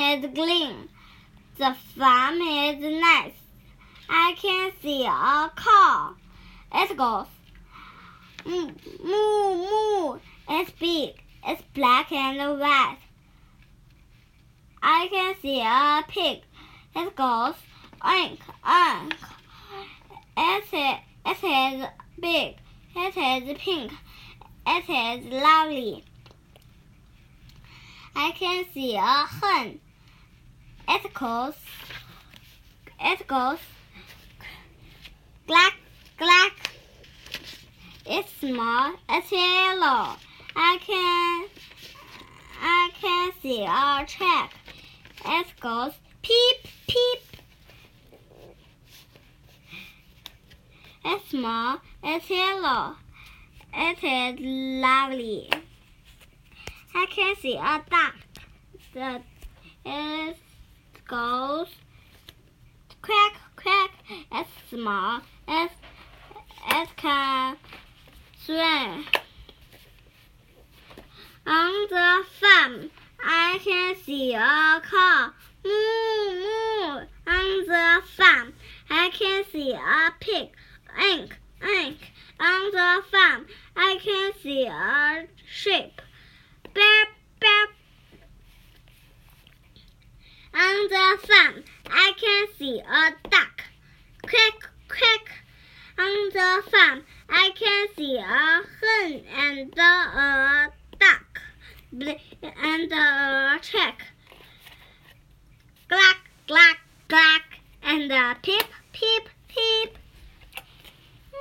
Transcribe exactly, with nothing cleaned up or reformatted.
is green. The farm is nice. I can see a cow. It goes moo, moo, moo. It's big. It's black and white. I can see a pig. It goes oink, oink. It is, it is big. It is pink. It is lovely. I can see a hen. It goes, it goes, clack, clack. It's small, it's yellow. I can, I can see a track. It goes peep, peep. It's small, it's yellow. It is lovely. I can see a duck. The, it goes quack, quack. It's small. It, it can swim. On the farm, I can see a cow. Moo, moo. On the farm, I can see a pig. Oink, oink. On the farm, I can see a sheep. Beep, beep. On the farm, I can see a duck. Quack, quack. On the farm, I can see a hen and a duck and a chick. Clack, clack, clack, and a pip,